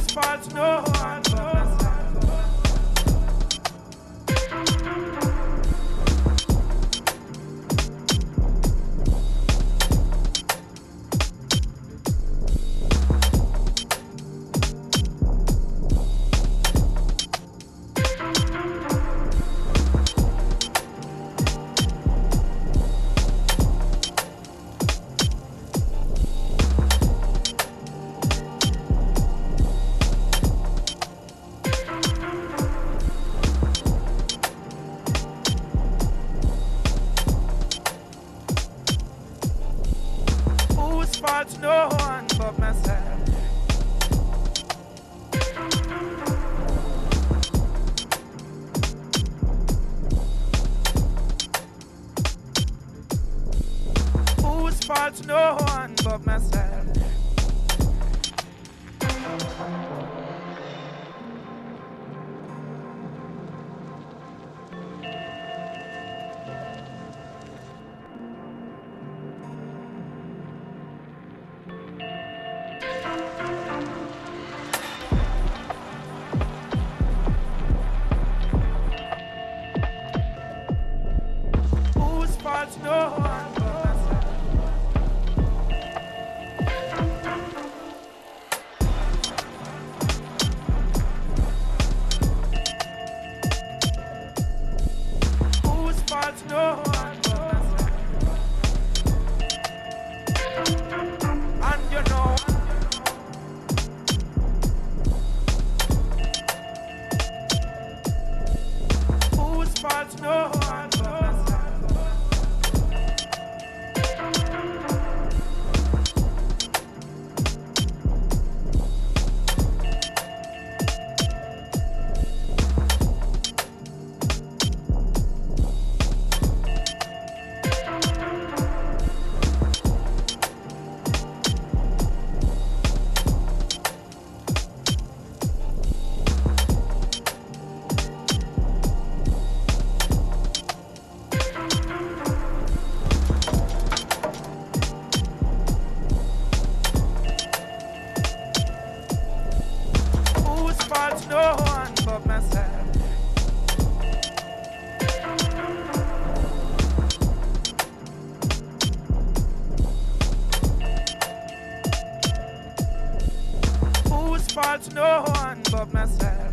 fault no one but myself. Whose fault no one but myself. Whose fault no one but myself. Whose fault no one but myself. Whose fault no one but myself. And you know whose fault no one but myself. Whose fault no one but myself. Whose fault no one but myself.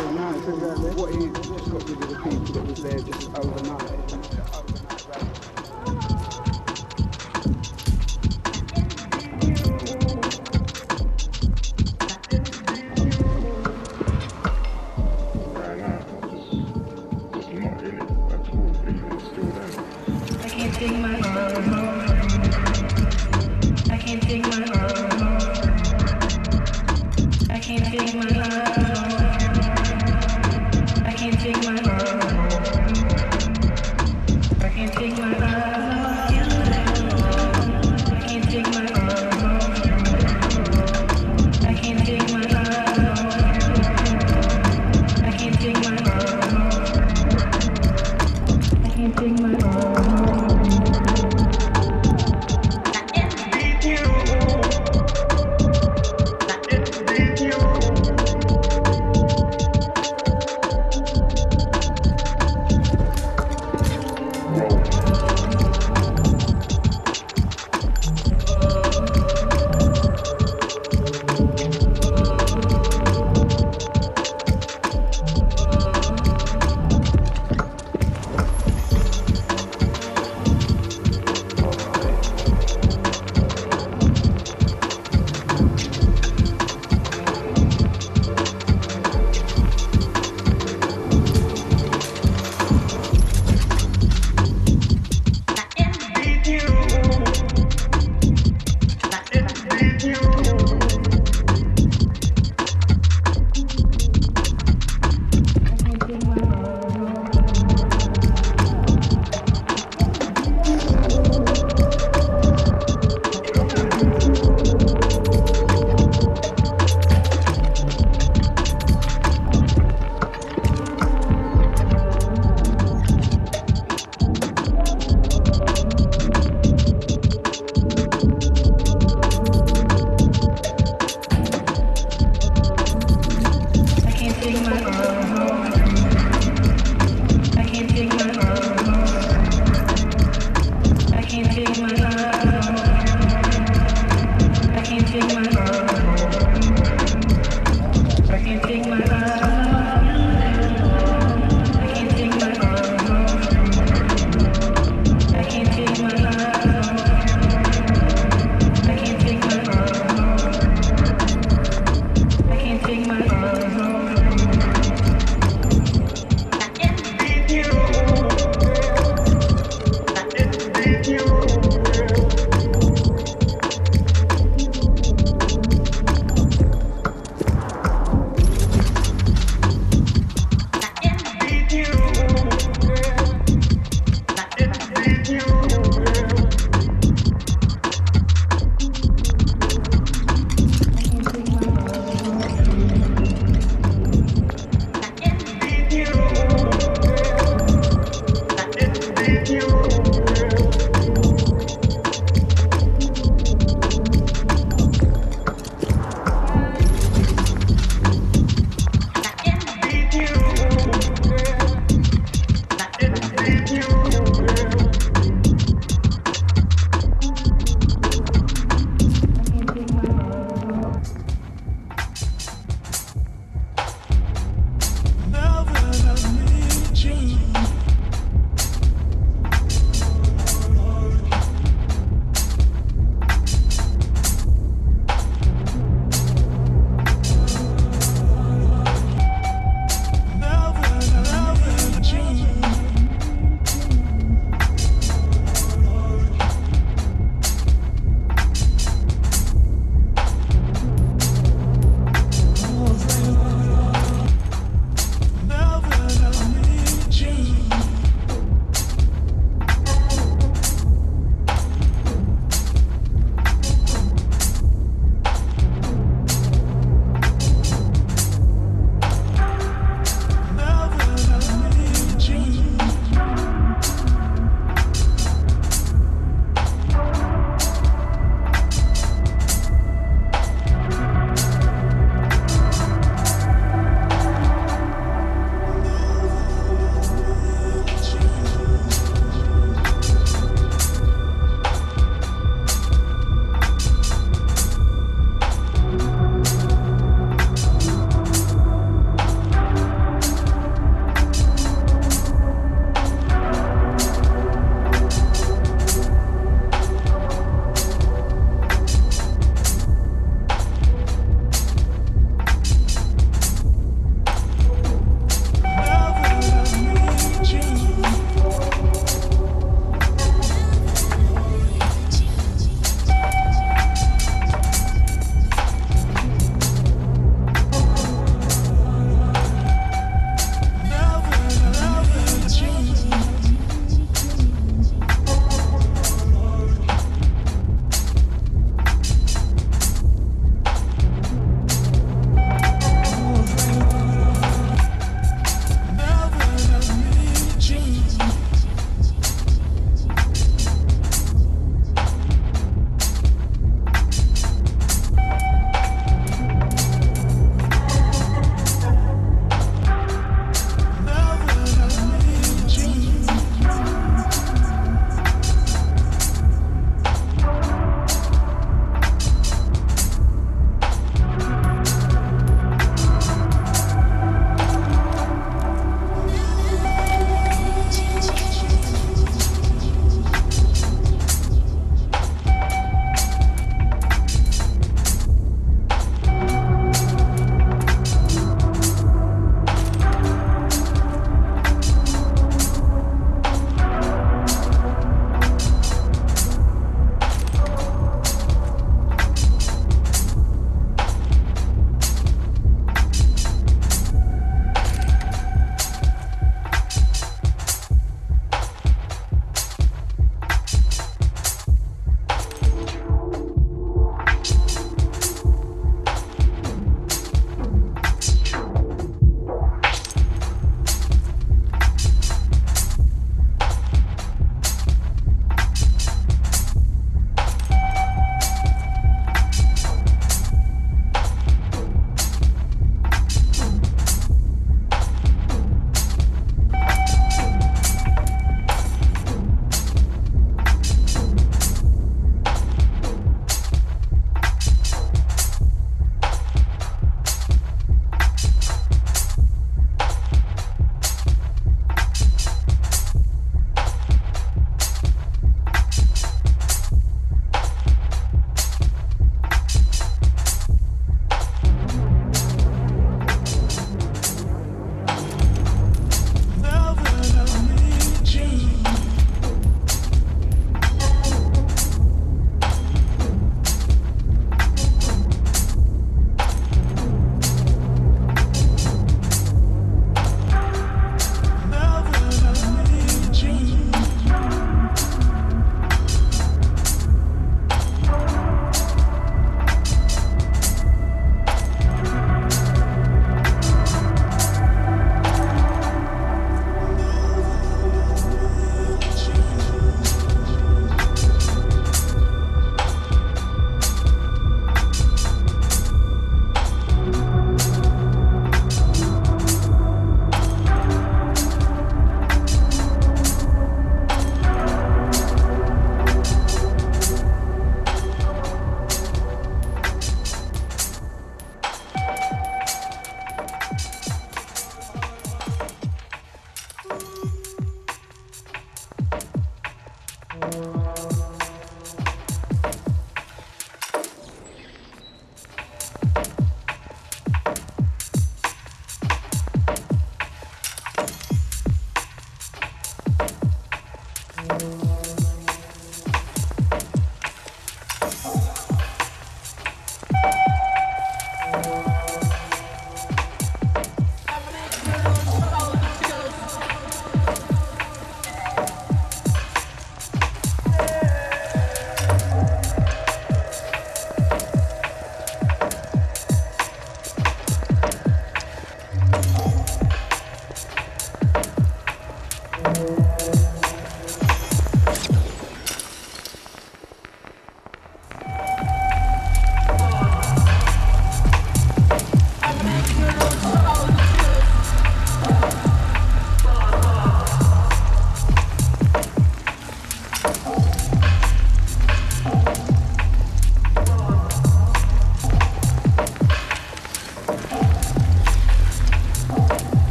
no, it's exactly what he's just got rid of the people that was there just overnight. I can't take my I can't take my I can't take my I can't take my I can't take my I can't take my I can't take my I can't take my I can't take my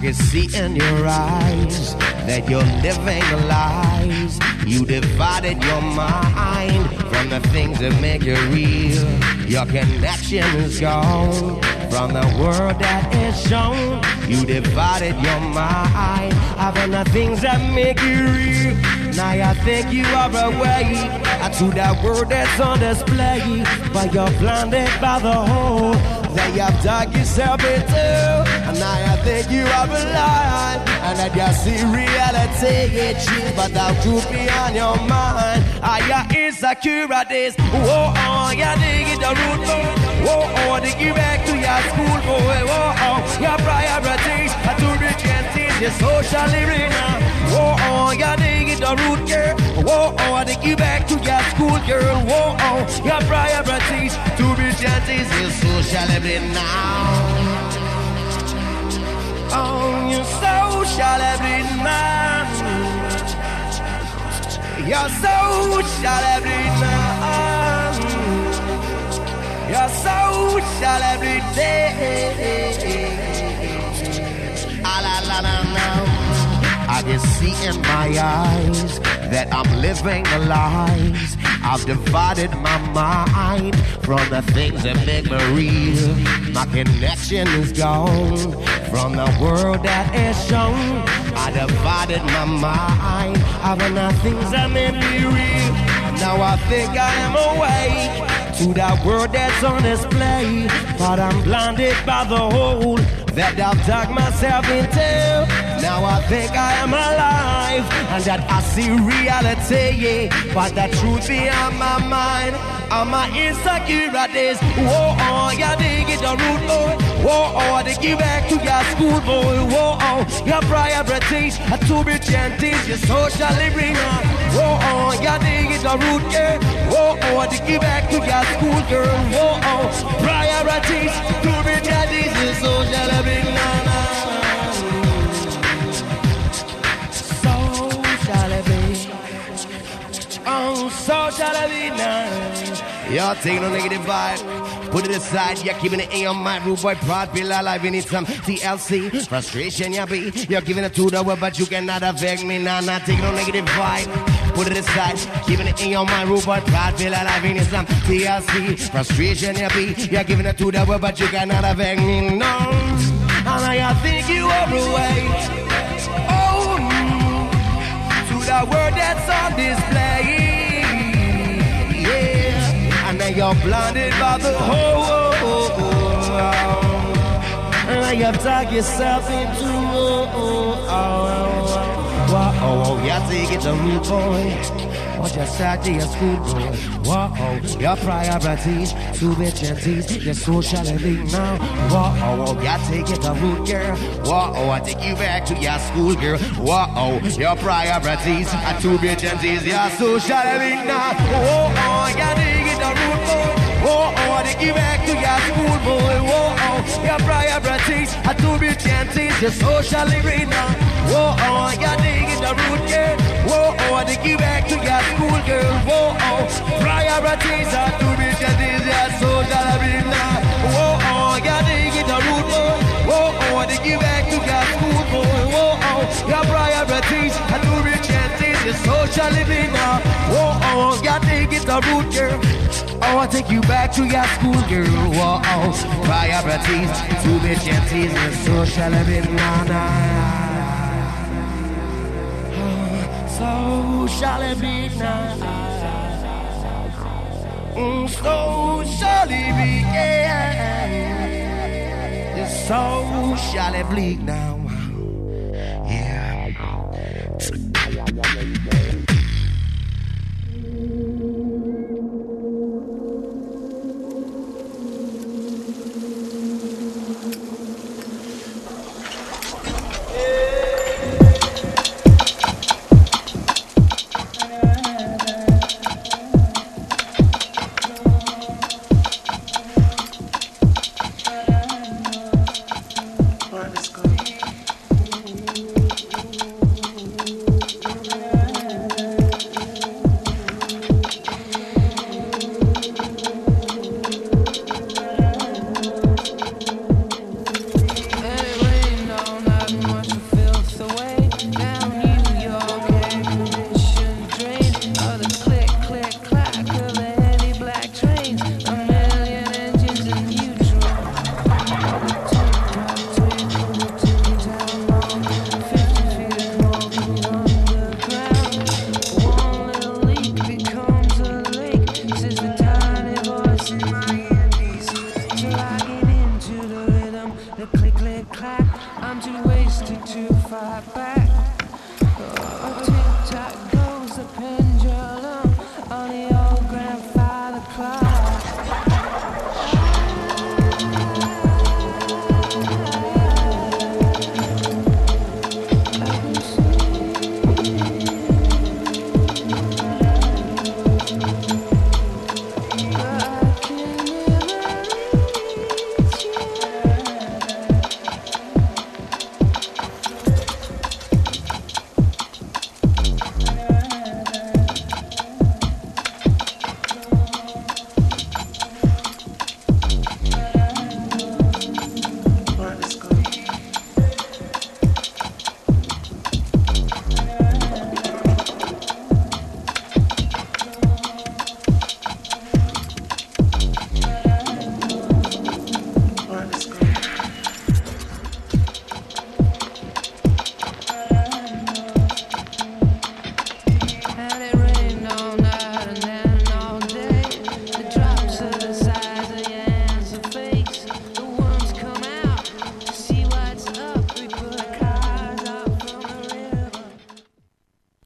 can see in your eyes that you're living lies. You divided your mind from the things that make you real. Your connection is gone from the world that is shown. You divided your mind from the things that make you real. Now I think you are away to that word that's on display, but you're blinded by the hole that you've dug yourself into. And now I think you are alive, and that you see reality, it's true, but that truth be on your mind. Are you insecure at this? Whoa, oh, you dig it the root, whoa, oh, dig you back to your school, boy, whoa, oh, your priorities are to reach and teach your social living now. Whoa, oh, you dig it the root, girl, whoa, oh, dig you back to your school, girl, whoa, oh, your priorities to reach and teach your social living now. Oh, your social living now. Your social every night. Your social every day. I can see in my eyes that I'm living lies. I've divided my mind from the things that make me real. My connection is gone from the world that is shown. I divided my mind from the things that make me real. Now I think I am awake to that world that's on display, but I'm blinded by the hole that I've dug myself into. Now I think I am alive, and that I see reality, yeah, but the truth be on my mind. I'm my insecurities. Whoa, oh, you dig it the root, boy. Whoa, oh, dig you back to your school, boy. Whoa, oh, your priorities are to be gentle, your social living. Whoa, oh, you dig it the root, girl. Whoa, oh, dig you back to your school, girl. Whoa, oh, priorities to be gentle, your social living. Social living. Oh, social living now. Y'all take no negative vibe. Put it aside, you're keeping it in your mind. Rude boy, proud, feel alive. You need some TLC. Frustration, you be. You're giving it to the world, but you cannot affect me. Nah, not take no negative vibe. Put it aside, keeping it in your mind. Rude boy, proud, feel alive. You need some TLC. Frustration, you be. You're giving it to the world, but you cannot affect me. No. And I think you are away. Oh, to the world that's on display. And now you're blinded by the whole. And now you've dug yourself into. Whoa, you take it the root, boy. Or just sat to your school, boy. Whoa, your priorities to be gentle, your social living now. Whoa, you take it the root, girl. Whoa, I take you back to your school, girl. Whoa, your priorities are to be gentle, your social living now. Whoa, you take it the root, boy. Whoa, I take you back to your school, boy. Whoa, your priorities are to be gentle, your social living now. Whoa, you take it the root, girl. Whoa, I take you back to your school, girl. Whoa, priorities are to be gentle, your social living now. Whoa, you take it the root, boy. Whoa, I take you back to your school, boy. Whoa, your priorities are to be gentle, your social living now. Whoa, you take it the root, girl. Oh, I take you back to your school, girl. Whoa, priorities to be gentle, your social living now. So shall it be now. So shall it be, yeah. So shall it bleed now. Yeah. time to waste it too far back.